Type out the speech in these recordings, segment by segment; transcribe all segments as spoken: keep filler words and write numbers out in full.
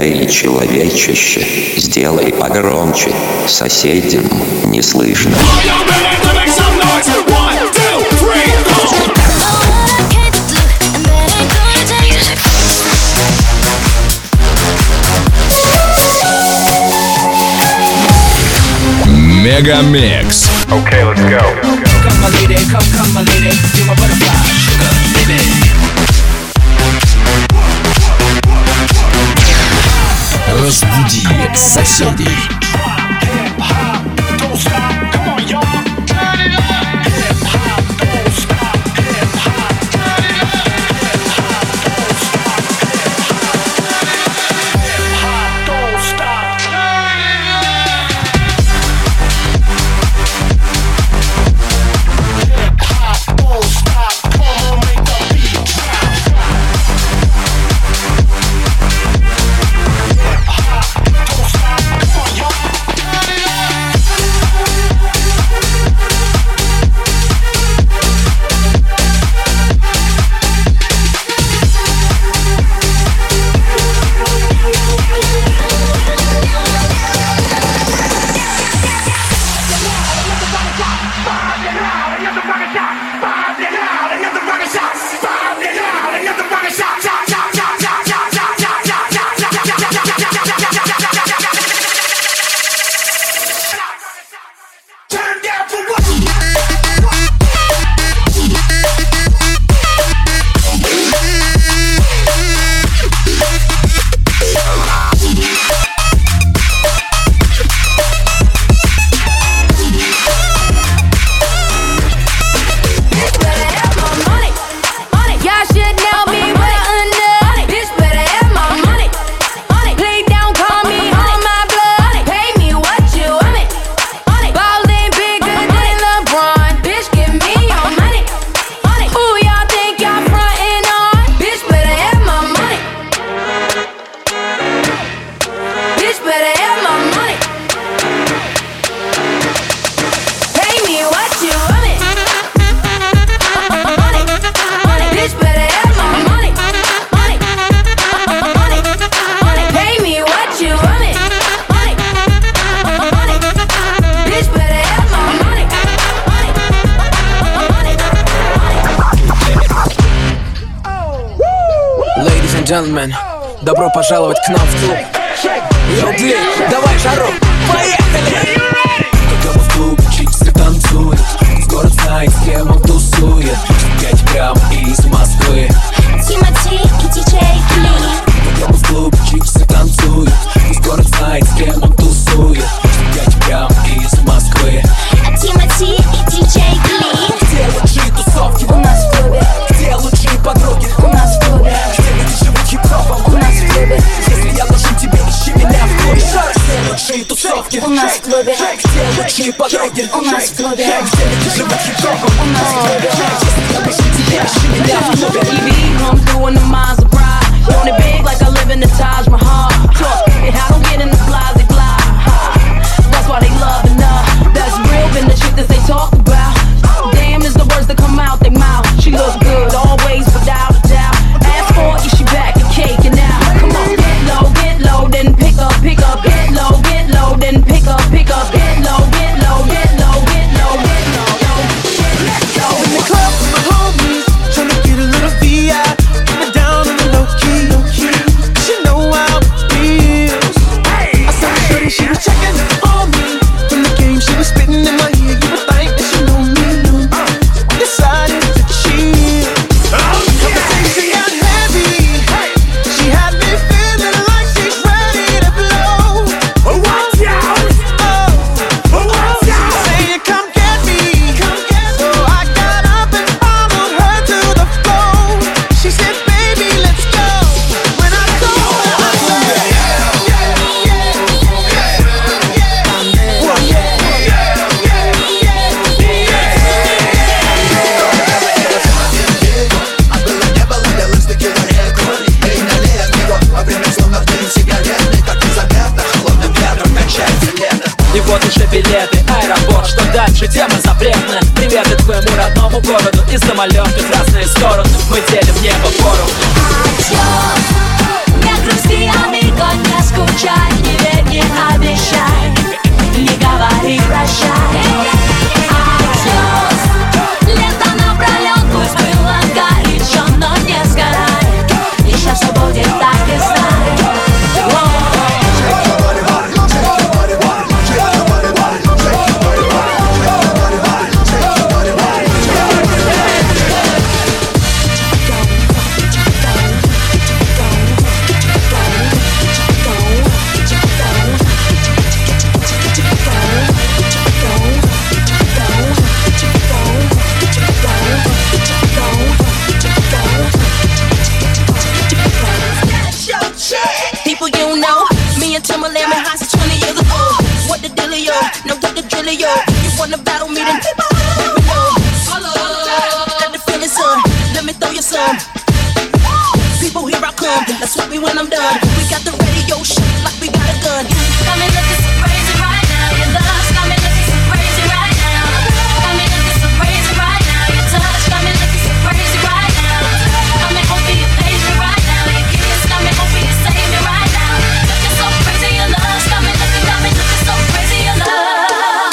Эй, человечище, сделай погромче, соседям не слышно. Мегамикс. Okay, let's go. Come my lady, come, come my lady, you're my butterfly, sugar, baby. Разбуди соседей. Джентльмен, добро пожаловать к нам в клуб. Йоу, давай жару, поехали! Когда мы в клубе, чиксы танцуют, город знает, с кем он тусует. Пять грамм из Москвы, Тимати и диджей Клин. когда мы в клубе, чиксы танцуют, город знает, с кем он тусует. Пять грамм из Москвы, Тимати и диджей Клин. где лучшие тусовки? У нас в клубе. Где лучшие подруги? У нас в клубе. Хип-хопом у нас в клубе. Если я должен тебе, ищи меня в клубе. Где лучшие тусовки? У нас в клубе. Где лучшие подруги? У нас в клубе. Где люди живут хип-хопом? У нас в клубе. Если я должен тебе, ищи меня в клубе. E V come through in the Maserati, doing it big like I live in the Taj Mahal. Talk it, I don't get in the blase blah. That's why they loving her. That's real, been the shit that they talk about. Damn is the words that come out their mouth. She look good always, without a doubt. Ask for it, she back and caking out. Come on, get low, get low, then pick up, pick up. Get low, get low, then pick up, pick up. Get low, get low, get low, get low, get low, get low. In the club with my homies, tryna get a little V I, get it down on the low key. She know how it feels. I saw her shorty, she was checking on me. From the game, she was spitting in my ear. You would think that she knew me. We decided to chill. Conversation got heavy. She had me feeling like she's ready to blow. Oh, watch out! Oh, oh, watch out! Saying, come get me. So I got up and followed her to the floor. She said, baby, let's go. When I told her, I said, yeah, yeah, yeah, yeah, yeah, yeah, yeah, И вот уже билеты, аэропорт, что дальше, тема запретная. Приветы твоему родному городу и самолеты в разные стороны. Мы делим небо поровну. Adiós, mi atrusí amigo, done. We got the radio shake like we got a gun. Got me looking so crazy right now. Your love got me looking so crazy right now. Got me looking so crazy right now. Your touch got me looking so crazy right now. Got me hoping you page me right now. Your kiss got me hoping you save me right now. Looking so crazy, your love got me looking, got me looking so crazy, your love.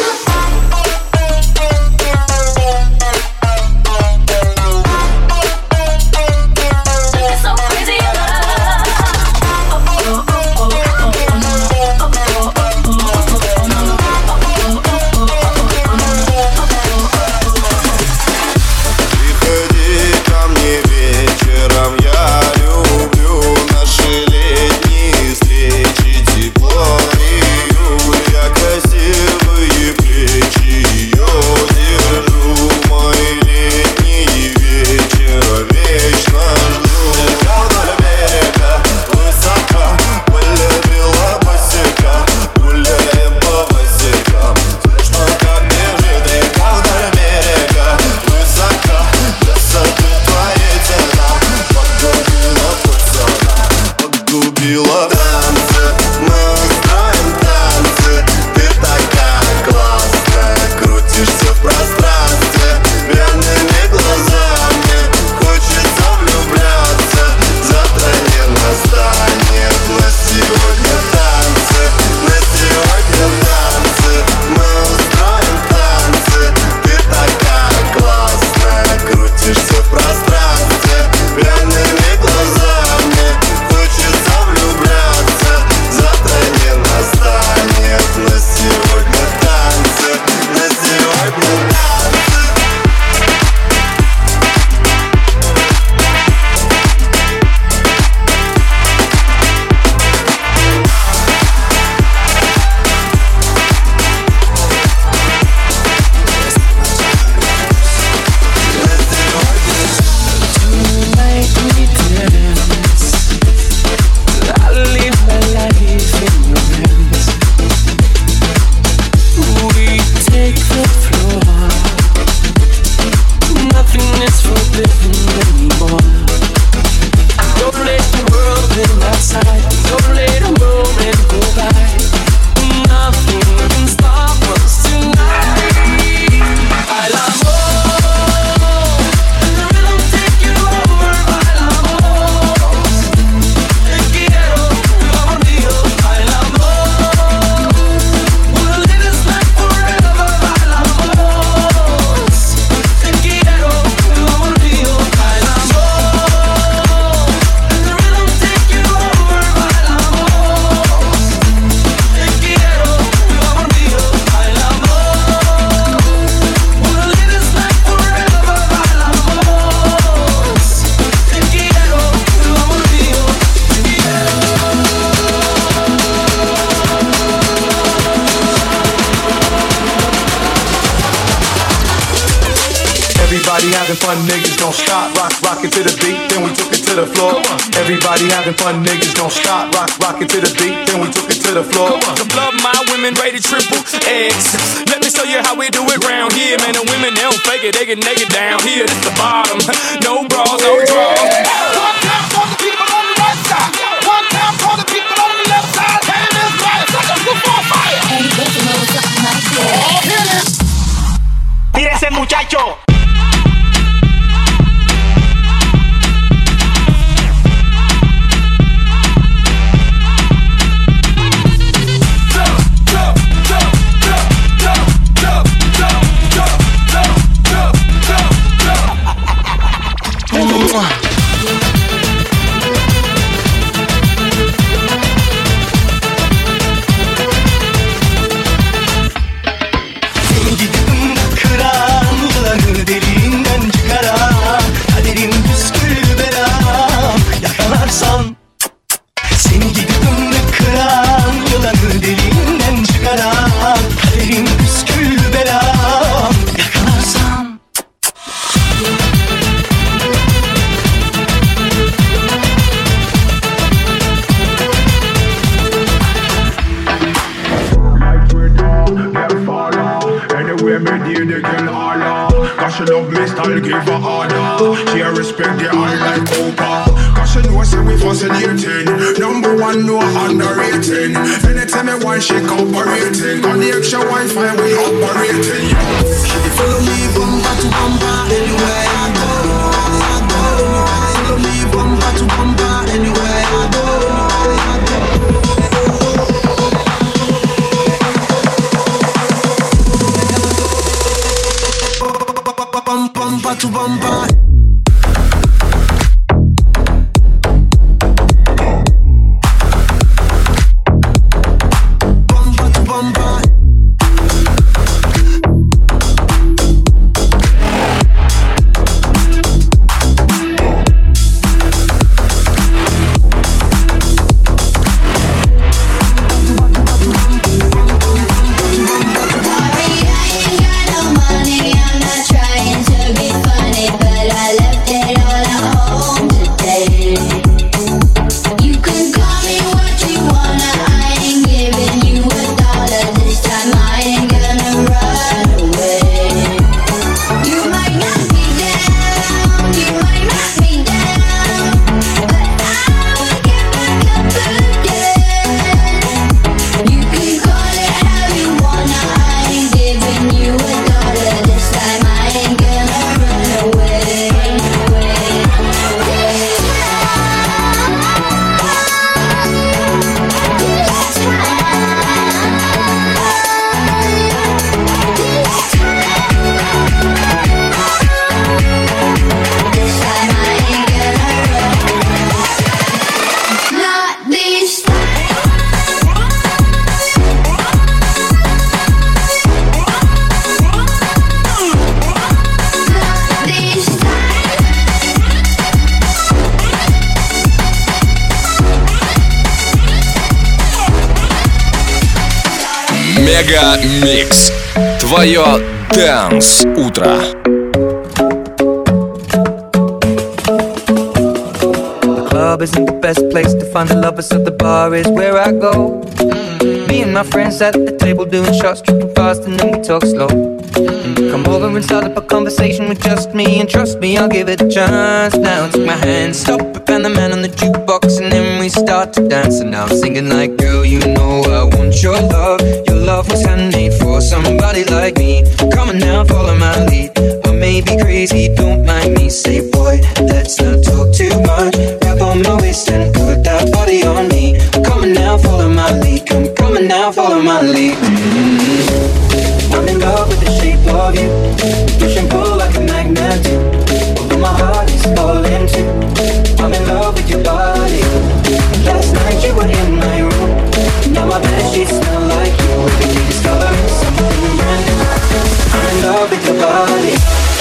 Everybody having fun, niggas don't stop. Rock, rock it to the beat, then we took it to the floor. Everybody having fun, niggas don't stop. Rock, rock it to the beat, then we took it to the floor. The blood, my women rated triple X. Let me show you how we do it round here, man. The women, they don't fake it, they get naked down here. This the bottom, no bras, no draws. One time for the people on the right side. One time for the people on the left side. Hand is right, such a good for fire. Mira ese muchacho. Kıran I'll give her order. She a respect the eye like Cooper. Cause she know say we fascinating. Number one, no underrating. Anytime I want, she cooperating. On the extra Wi-Fi, we operating. She follow me bumper to bumper anywhere I go. Follow me bumper to bumper anywhere I go. Bumper to bumper. Мега Микс. Твое Dance утро. The club isn't the best place to find the lovers, so the bar is where I go. Mm-hmm. Me and my friends at the table doing shots, tripping fast, and then we talk slow. Mm-hmm. Come over and start up a conversation with just me, and trust me, I'll give it a chance. Now take my hand, stop it, and the man on the jukebox, and then we start to dance. And now I'm singing like, girl, you know I want your love. Your love was handmade for somebody like me. Come on now, follow my lead. I may be crazy, don't mind me. Say, boy, let's not talk too much. Grab on my waist and put that body on me. Come on now, follow my lead. Come, come on now, follow my lead. Mm-hmm. I'm in love with the shape of you. Push and pull like a magnet do. Although my heart is falling too. I'm in love with your body. Last night you were in my room. Now my bedsheets smell like you. Every day discovering something brand new. I'm in love with your body.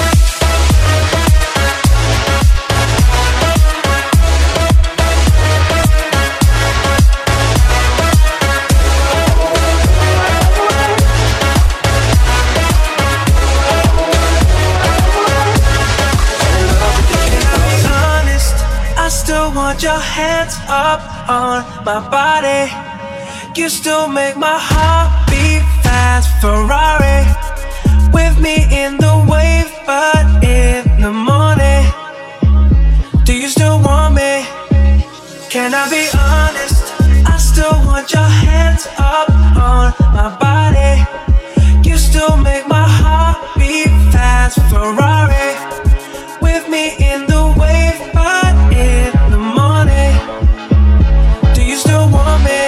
Want your hands up on my body. You still make my heart beat fast. Ferrari with me in the wave, but in the morning. Do you still want me? Can I be honest? I still want your hands up on my body. You still make my heart beat fast. Ferrari with me in the wave, but in the morning. Do you still want me?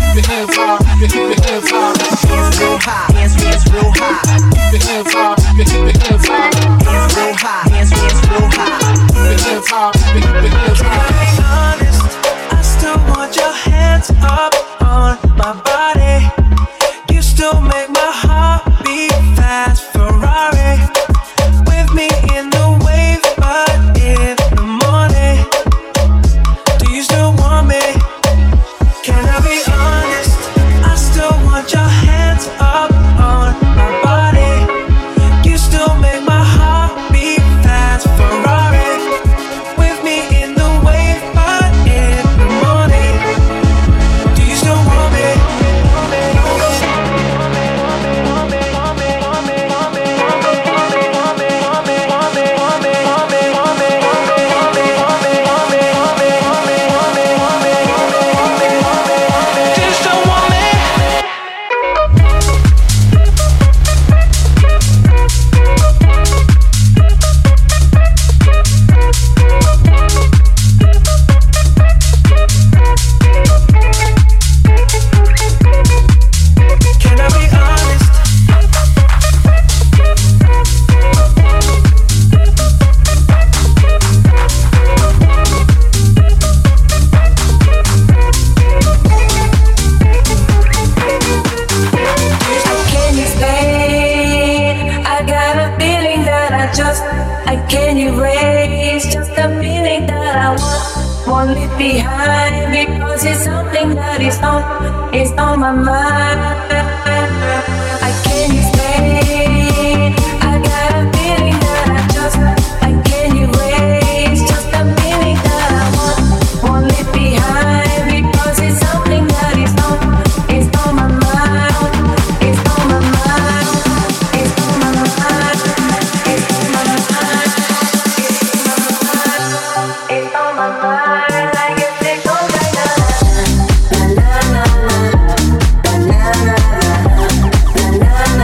keep your hands high, keep your hands high. Hands real high, hands, hands real high. Keep your hands high, keep your hands high. Hands real high, hands, hands real high. Keep your hands high, keep your hands high. To be honest, I still want your hands up on my body. You still make my heart beat fast. Ferrari with me in the wave, but in the morning. Do you still want me? Can I be honest? I still want your hands up on my body. You still make my heart beat fast. Ferrari with me in the wave, but in the morning. Do you still want me? Can I be honest? Can you stay? I got a feeling that I just I can't erase. Just a feeling that I want, won't leave behind, because it's something that is on, it's on my mind. I can't stay. I got a feeling that I just I can't erase. Just a feeling that I want, won't leave behind, because it's something that is on, it's on my mind. It's on my mind. It's on my mind. It's on my mind. It's on my mind. I guess it goes like that. Na na na na na na na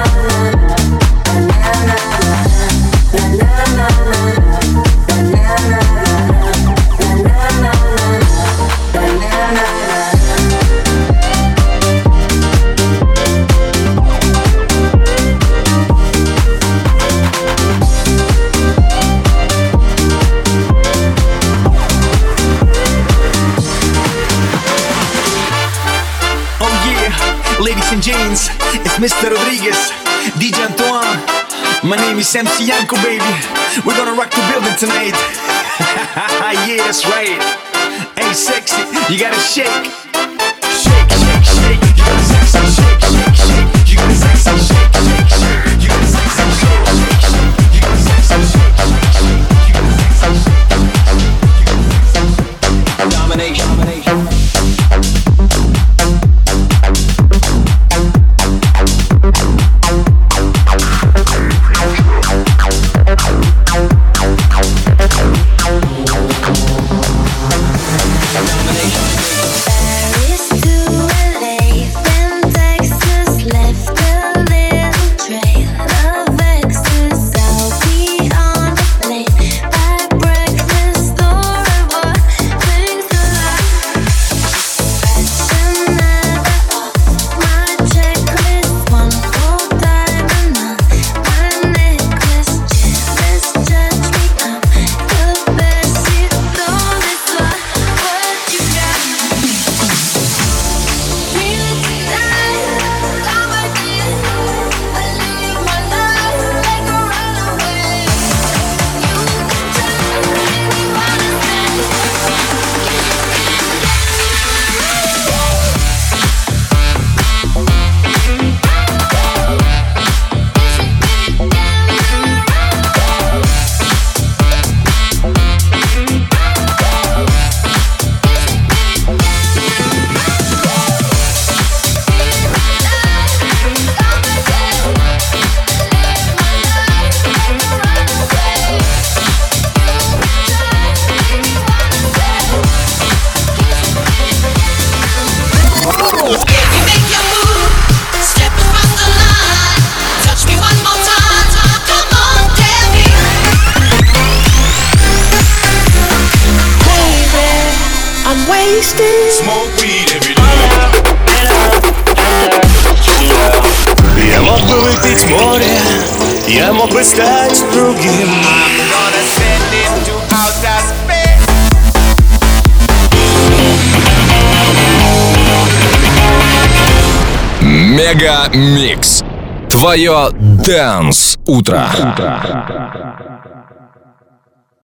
Oh yeah, ladies and gents, it's Mister Rodriguez, D J Antoine. My name is M C Yanko, baby. We're gonna rock the building tonight. Yeah, that's right. Hey, sexy, you gotta shake. Shake, shake, shake. You gotta sexy shake, shake, shake. You gotta sexy shake, shake, shake. You gotta sexy shake, shake, shake. You gotta sexy shake, shake, shake. You gotta sexy shake. Domination, domination. Bad чтобы стать другим. I'm gonna send him to outer space. Мега Микс. Твое Dance утро.